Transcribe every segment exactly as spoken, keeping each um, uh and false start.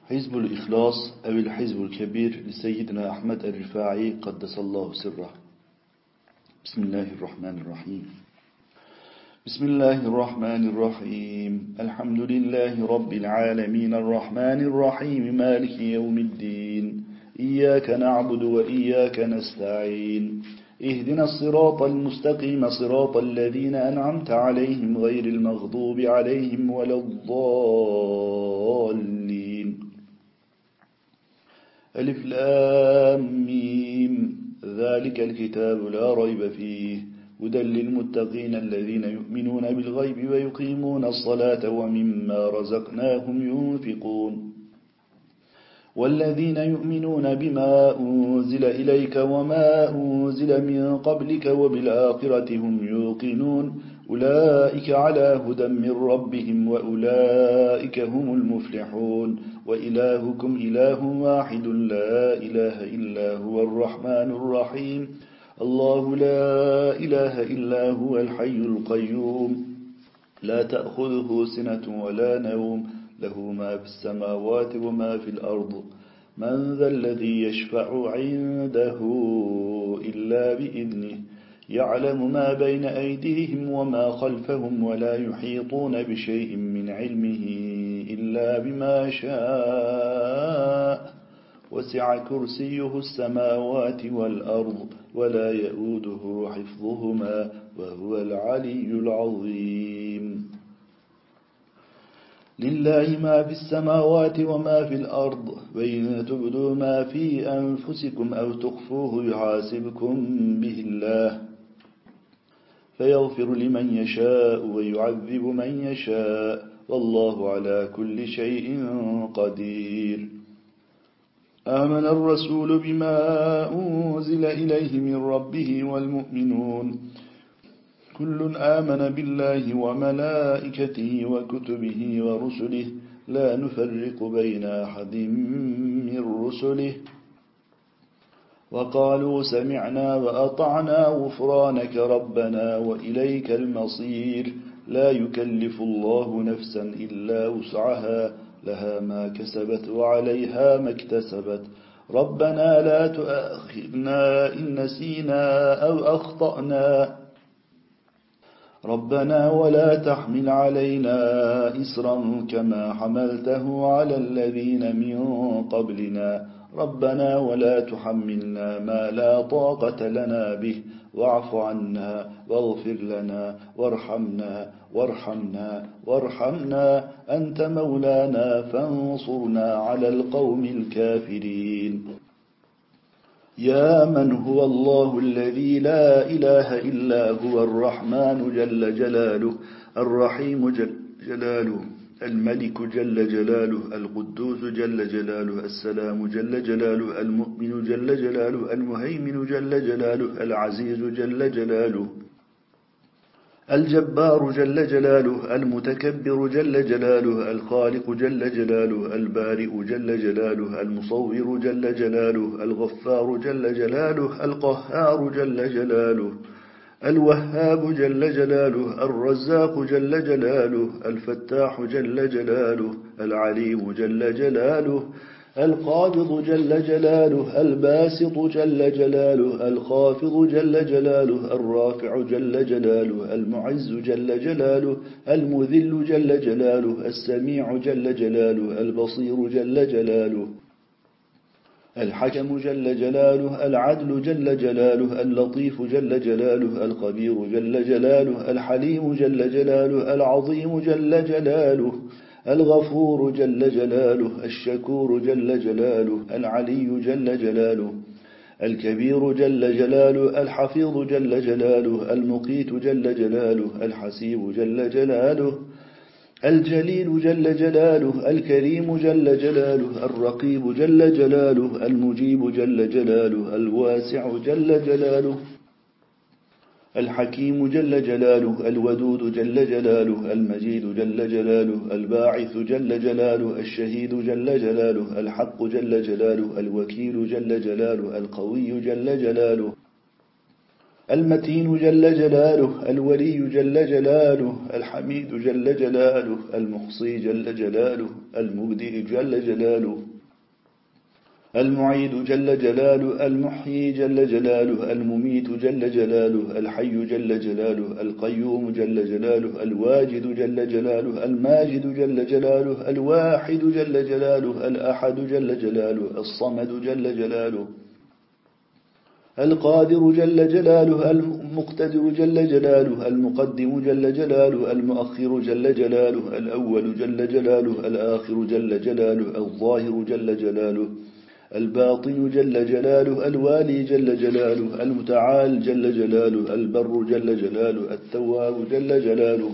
حزب الإخلاص أو الحزب الكبير لسيدنا أحمد الرفاعي قدس الله سره. بسم الله الرحمن الرحيم. بسم الله الرحمن الرحيم. الحمد لله رب العالمين الرحمن الرحيم مالك يوم الدين. إياك نعبد وإياك نستعين. اهدنا الصراط المستقيم صراط الذين أنعمت عليهم غير المغضوب عليهم ولا الضالين. ألف لام ميم. ذلك الكتاب لا ريب فيه هدى للمتقين الذين يؤمنون بالغيب ويقيمون الصلاة ومما رزقناهم ينفقون والذين يؤمنون بما أنزل إليك وما أنزل من قبلك وبالآخرة هم يوقنون أولئك على هدى من ربهم وأولئك هم المفلحون. وإلهكم إله واحد لا إله إلا هو الرحمن الرحيم. الله لا إله إلا هو الحي القيوم لا تأخذه سنة ولا نوم له ما في السماوات وما في الأرض. من ذا الذي يشفع عنده إلا بإذنه يعلم ما بين أيديهم وما خلفهم ولا يحيطون بشيء من علمه إلا بما شاء وسع كرسيه السماوات والأرض ولا يؤوده حفظهما وهو العلي العظيم. لله ما في السماوات وما في الأرض وإن تبدوا ما في أنفسكم أو تخفوه يحاسبكم به الله فيغفر لمن يشاء ويعذب من يشاء والله على كل شيء قدير. آمن الرسول بما أنزل إليه من ربه والمؤمنون كل آمن بالله وملائكته وكتبه ورسله لا نفرق بين أحد من رسله وقالوا سمعنا وأطعنا غفرانك ربنا وإليك المصير. لا يكلف الله نفسا إلا وسعها لها ما كسبت وعليها ما اكتسبت. ربنا لا تؤاخذنا إن نسينا أو أخطأنا ربنا ولا تحمل علينا إسرا كما حملته على الذين من قبلنا ربنا ولا تحملنا ما لا طاقة لنا به واعف عنا واغفر لنا وارحمنا وارحمنا وارحمنا أنت مولانا فانصرنا على القوم الكافرين. يا من هو الله الذي لا إله إلا هو الرحمن جل جلاله الرحيم جل جلاله الملك جل جلاله القدوس جل جلاله السلام جل جلاله المؤمن جل جلاله المهيمن جل جلاله العزيز جل جلاله الجبار جل جلاله المتكبر جل جلاله الخالق جل جلاله البارئ جل جلاله المصور جل جلاله الغفار جل جلاله القهار جل جلاله الوهاب جل جلاله الرزاق جل جلاله الفتاح جل جلاله العليم جل جلاله القابض جل جلاله الباسط جل جلاله الخافض جل جلاله الرافع جل جلاله المعز جل جلاله المذل جل جلاله السميع جل جلاله البصير جل جلاله الحكم جل جلاله العدل جل جلاله اللطيف جل جلاله الخبير جل جلاله الحليم جل جلاله العظيم جل جلاله الغفور جل جلاله الشكور جل جلاله العلي جل جلاله الكبير جل جلاله الحفيظ جل جلاله المقيت جل جلاله الحسيب جل جلاله الجليل جل جلاله الكريم جل جلاله الرقيب جل جلاله المجيب جل جلاله الواسع جل جلاله الحكيم جل جلاله الودود جل جلاله المجيد جل جلاله الباعث جل جلاله الشهيد جل جلاله الحق جل جلاله الوكيل جل جلاله القوي جل جلاله المتين جل جلاله، الولي جل جلاله، الحميد جل جلاله، المحصي جل جلاله، المبدئ جل جلاله، المعيد جل جلاله، المحيي جل جلاله، المميت جل جلاله، الحي جل جلاله، القيوم جل جلاله، الواجد جل جلاله، الماجد جل جلاله، الواحد جل جلاله، الأحد جل جلاله، الصمد جل جلاله، القادر جل جلاله، المقتدر جل جلاله، المقدم جل جلاله، المؤخر جل جلاله، الأول جل جلاله، الآخر جل جلاله، الظاهر جل جلاله، الباطن جل جلاله، الوالي جل جلاله، المتعال جل جلاله، البر جل جلاله، التواب جل جلاله،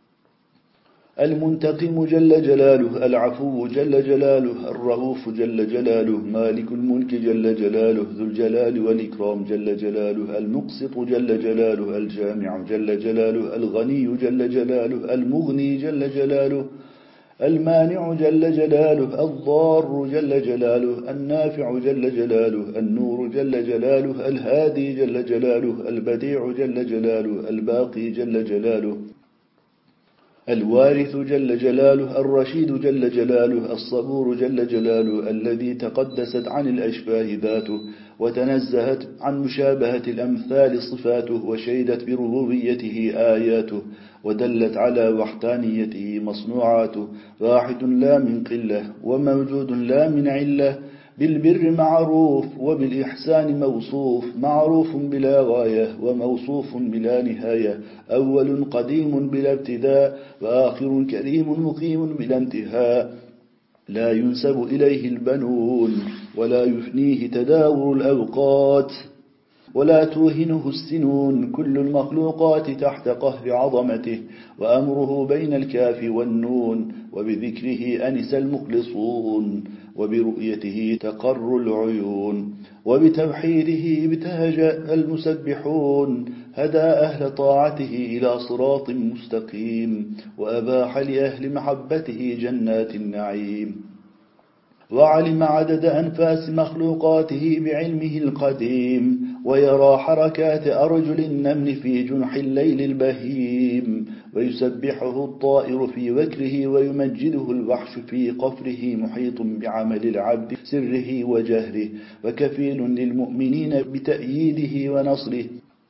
المنتقم جل جلاله، العفو جل جلاله، الرؤوف جل جلاله، مالك الملك جل جلاله، ذو الجلال والإكرام جل جلاله، المقسط جل جلاله، الجامع جل جلاله، الغني جل جلاله، المغني جل جلاله، المانع جل جلاله، الضار جل جلاله، النافع جل جلاله، النور جل جلاله، الهادي جل جلاله، البديع جل جلاله، الباقي جل جلاله، الوارث جل جلاله، الرشيد جل جلاله، الصبور جل جلاله، الذي تقدست عن الأشباه ذاته وتنزهت عن مشابهة الأمثال صفاته وشهدت بربوبيته آياته ودلت على وحدانيته مصنوعاته، واحد لا من قلة وموجود لا من علة، بالبر معروف وبالإحسان موصوف، معروف بلا غاية وموصوف بلا نهاية، أول قديم بلا ابتداء وآخر كريم مقيم بلا انتهاء، لا ينسب إليه البنون ولا يفنيه تداور الأوقات ولا توهنه السنون، كل المخلوقات تحت قهر عظمته وأمره بين الكاف والنون، وبذكره أنس المخلصون وبرؤيته تقر العيون وبتوحيده ابتهج المسبحون، هدى أهل طاعته إلى صراط مستقيم وأباح لأهل محبته جنات النعيم، وعلم عدد أنفاس مخلوقاته بعلمه القديم، ويرى حركات أرجل النمل في جنح الليل البهيم، ويسبحه الطائر في وكره ويمجده الوحش في قفره، محيط بعمل العبد سره وجهره وكفيل للمؤمنين بتأييده ونصره،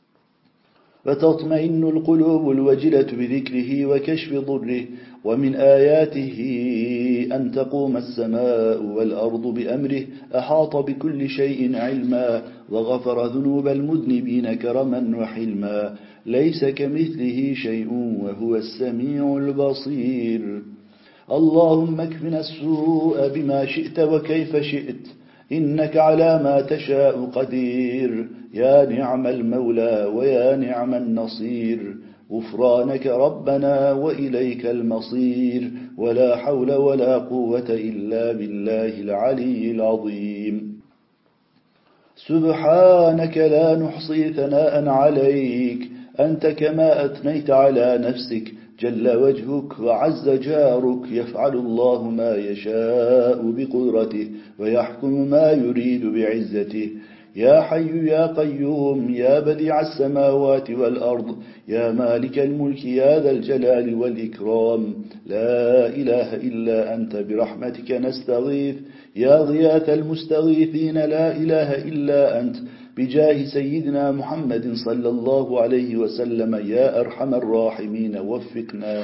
فتطمئن القلوب الوجلة بذكره وكشف ضره، ومن آياته أن تقوم السماء والأرض بأمره، أحاط بكل شيء علما وغفر ذنوب المذنبين كرما وحلما، ليس كمثله شيء وهو السميع البصير. اللهم اكفنا السوء بما شئت وكيف شئت، إنك على ما تشاء قدير، يا نعم المولى ويا نعم النصير، غفرانك ربنا وإليك المصير، ولا حول ولا قوة إلا بالله العلي العظيم. سبحانك لا نحصي ثناء عليك، أنت كما أثنيت على نفسك، جل وجهك وعز جارك، يفعل الله ما يشاء بقدرته ويحكم ما يريد بعزته، يا حي يا قيوم يا بديع السماوات والأرض، يا مالك الملك يا ذا الجلال والإكرام، لا إله إلا أنت برحمتك نستغيث، يا غياث المستغيثين لا إله إلا أنت، بجاه سيدنا محمد صلى الله عليه وسلم، يا أرحم الراحمين وفقنا،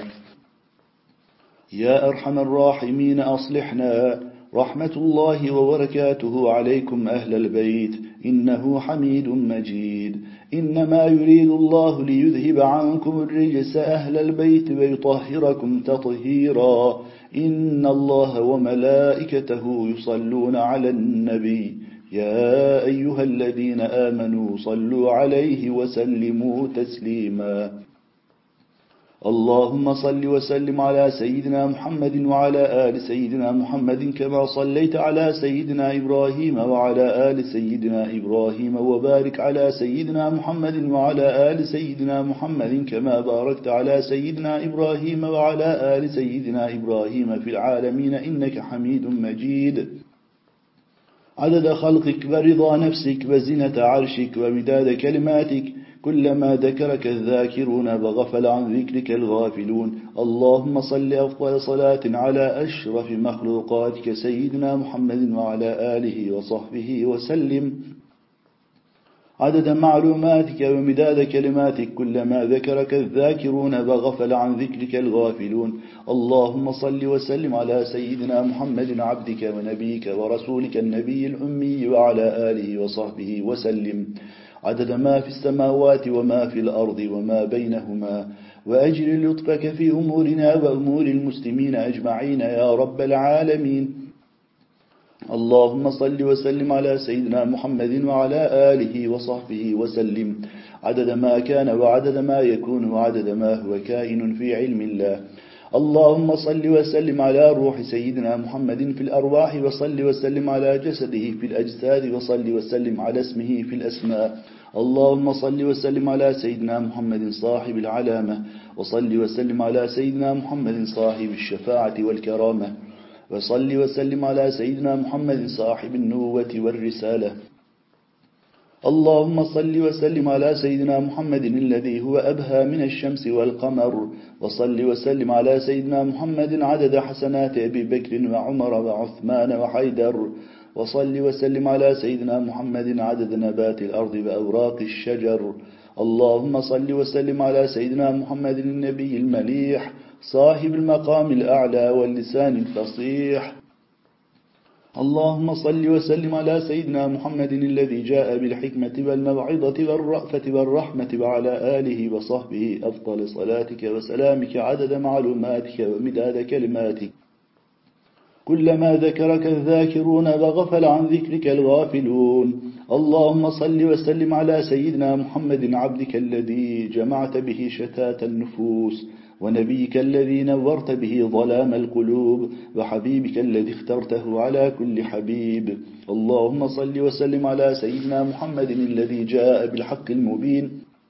يا أرحم الراحمين أصلحنا، رحمة الله وبركاته عليكم أهل البيت، إنه حميد مجيد، إنما يريد الله ليذهب عنكم الرجس أهل البيت ويطهركم تطهيرا، إن الله وملائكته يصلون على النبي، يا أيها الذين آمنوا صلوا عليه وسلموا تسليما. اللهم صل وسلم على سيدنا محمد وعلى آل سيدنا محمد كما صليت على سيدنا إبراهيم وعلى آل سيدنا إبراهيم، وبارك على سيدنا محمد وعلى آل سيدنا محمد كما باركت على سيدنا إبراهيم وعلى آل سيدنا إبراهيم في العالمين إنك حميد مجيد. عدد خلقك ورضا نفسك وزنة عرشك ومداد كلماتك، كلما ذكرك الذاكرون وغفل عن ذكرك الغافلون. اللهم صل أفضل صلاة على أشرف مخلوقاتك سيدنا محمد وعلى آله وصحبه وسلم عدد معلوماتك ومداد كلماتك كلما ذكرك الذاكرون وغفل عن ذكرك الغافلون. اللهم صل وسلم على سيدنا محمد عبدك ونبيك ورسولك النبي الأمي وعلى آله وصحبه وسلم عدد ما في السماوات وما في الأرض وما بينهما. وأجل لطفك في أمورنا وأمور المسلمين أجمعين يا رب العالمين. اللهم صل وسلم على سيدنا محمد وعلى آله وصحبه وسلم عدد ما كان وعدد ما يكون وعدد ما هو كائن في علم الله. اللهم صل وسلم على روح سيدنا محمد في الأرواح وصل وسلم على جسده في الأجساد وصل وسلم على اسمه في الأسماء. اللهم صل وسلم على سيدنا محمد صاحب العلامة وصل وسلم على سيدنا محمد صاحب الشفاعة والكرامة وصل وسلم على سيدنا محمد صاحب النبوة والرسالة. اللهم صل وسلم على سيدنا محمد الذي هو أبهى من الشمس والقمر وصل وسلم على سيدنا محمد عدد حسنات أبي بكر وعمر وعثمان وحيدر وصل وسلم على سيدنا محمد عدد نبات الأرض وأوراق الشجر. اللهم صل وسلم على سيدنا محمد النبي المليح صاحب المقام الأعلى واللسان الفصيح. اللهم صل وسلم على سيدنا محمد الذي جاء بالحكمة والموعظة والرأفة والرحمة وعلى آله وصحبه أفضل صلاتك وسلامك عدد معلوماتك ومداد كلماتك كلما ذكرك الذاكرون وغفل عن ذكرك الغافلون. اللهم صل وسلم على سيدنا محمد عبدك الذي جمعت به شتات النفوس ونبيك الذي نورت به ظلام القلوب وحبيبك الذي اخترته على كل حبيب. اللهم صل وسلم على سيدنا محمد الذي جاء بالحق المبين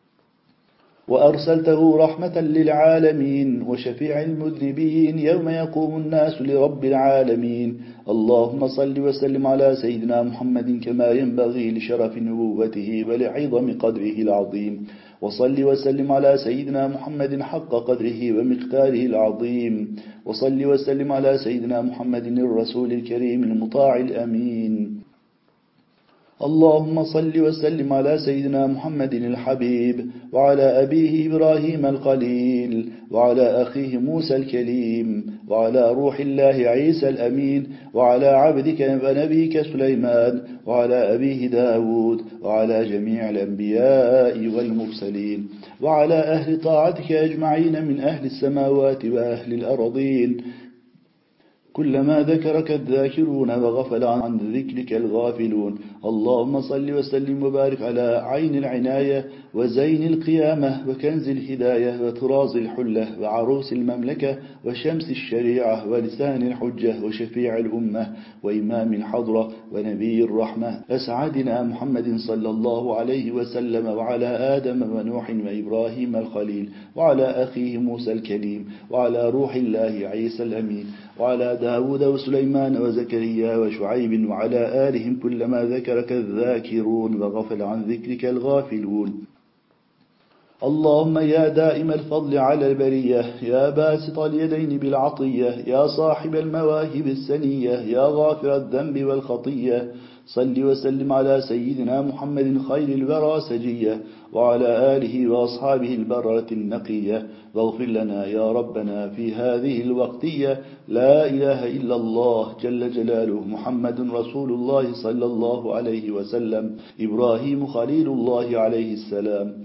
وأرسلته رحمة للعالمين وشفيع المذنبين يوم يقوم الناس لرب العالمين. اللهم صل وسلم على سيدنا محمد كما ينبغي لشرف نبوته ولعظم قدره العظيم وصل وسلم على سيدنا محمد حق قدره ومقداره العظيم وصل وسلم على سيدنا محمد الرسول الكريم المطاع الأمين. اللهم صل وسلم على سيدنا محمد الحبيب وعلى أبيه إبراهيم الخليل وعلى أخيه موسى الكليم وعلى روح الله عيسى الأمين وعلى عبدك ونبيك سليمان وعلى أبيه داود وعلى جميع الأنبياء والمرسلين وعلى أهل طاعتك أجمعين من أهل السماوات وأهل الأرضين كلما ذكرك الذاكرون وغفل عن ذكرك الغافلون. اللهم صل وسلم وبارك على عين العناية وزين القيامة وكنز الهداية وطراز الحلة وعروس المملكة وشمس الشريعة ولسان الحجة وشفيع الأمة وإمام الحضرة ونبي الرحمة أسعدنا محمد صلى الله عليه وسلم وعلى آدم ونوح وإبراهيم الخليل وعلى أخيه موسى الكليم وعلى روح الله عيسى الأمين وعلى داود وسليمان وزكريا وشعيب وعلى آلهم كلما ذكرك الذاكرون وغفل عن ذكرك الغافلون. اللهم يا دائم الفضل على البرية يا باسط اليدين بالعطية يا صاحب المواهب السنية يا غافر الذنب والخطية صل وسلم على سيدنا محمد خير الورى سجية وعلى آله وأصحابه البررة النقية واغفر لنا يا ربنا في هذه الوقتية. لا إله إلا الله جل جلاله محمد رسول الله صلى الله عليه وسلم إبراهيم خليل الله عليه السلام.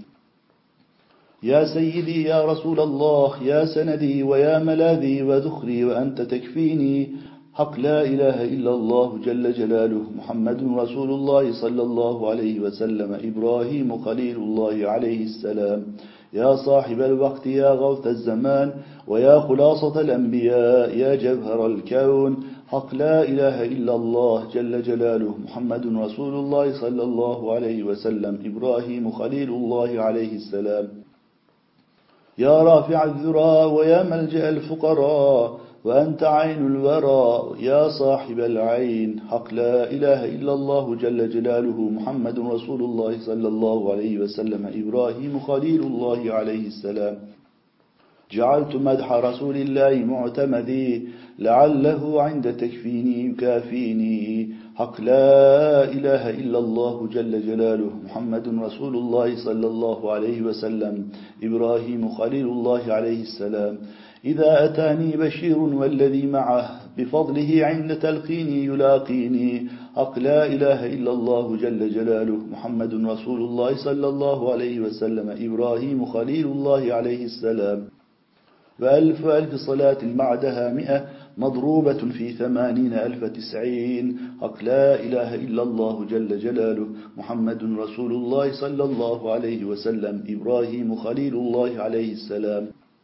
يا سيدي يا رسول الله يا سندي ويا ملاذي وذخري وأنت تكفيني حق لا إله إلا الله جل جلاله محمد رسول الله صلى الله عليه وسلم إبراهيم خليل الله عليه السلام. يا صاحب الوقت يا غوث الزمان ويا خلاصة الأنبياء يا جوهر الكون حق لا إله إلا الله جل جلاله محمد رسول الله صلى الله عليه وسلم إبراهيم خليل الله عليه السلام. يا رافع الذرى ويا ملجأ الفقراء وأنت عين الورى يا صاحب العين. حق لا إله إلا الله جل جلاله محمد رسول الله صلى الله عليه وسلم إبراهيم خليل الله عليه السلام. جعلت مدح رسول الله معتمدي لعله عند تكفيني يكافيني. حق لا إله إلا الله جل جلاله محمد رسول الله صلى الله عليه وسلم إبراهيم خليل الله عليه السلام. إذا أتاني بشير والذي معه بفضله عند تلقيني يلاقيني. حق لا إله إلا الله جل جلاله محمد رسول الله صلى الله عليه وسلم إبراهيم خليل الله عليه السلام. وألف ألف صلاة بعدها مئة مضروبة في ثمانين ألف تسعين. حق لا إله إلا الله جل جلاله محمد رسول الله صلى الله عليه وسلم إبراهيم خليل الله عليه السلام.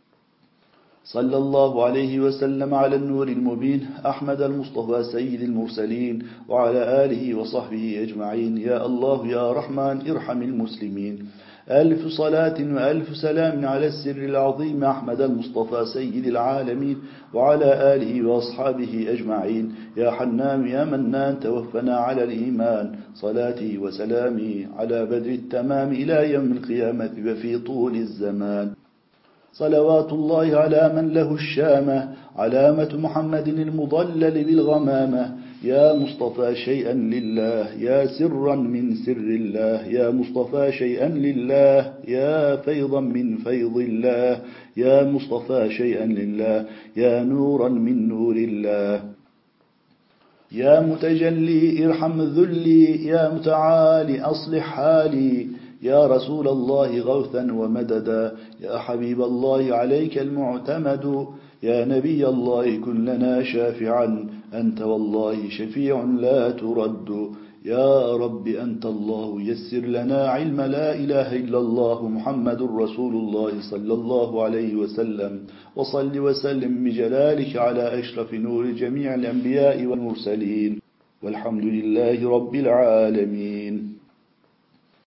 صلى الله عليه وسلم على النور المبين أحمد المصطفى سيد المرسلين وعلى آله وصحبه أجمعين. يا الله يا رحمن ارحم المسلمين. ألف صلاة وألف سلام على السر العظيم أحمد المصطفى سيد العالمين وعلى آله وأصحابه أجمعين. يا حنان يا منان توفنا على الإيمان. صلاتي وسلامي على بدر التمام إلى يوم القيامة وفي طول الزمان. صلوات الله على من له الشامة علامة محمد المضلل بالغمامة. يا مصطفى شيئا لله يا سرا من سر الله. يا مصطفى شيئا لله يا فيضا من فيض الله. يا مصطفى شيئا لله يا نورا من نور الله. يا متجلي ارحم ذلي يا متعالي أصلح حالي. يا رسول الله غوثا ومددا يا حبيب الله عليك المعتمد. يا نبي الله كن لنا شافعا أنت والله شفيع لا ترد. يا رب أنت الله يسر لنا علم لا إله إلا الله محمد رسول الله صلى الله عليه وسلم. وصل وسلم بجلالك على أشرف نور جميع الأنبياء والمرسلين والحمد لله رب العالمين.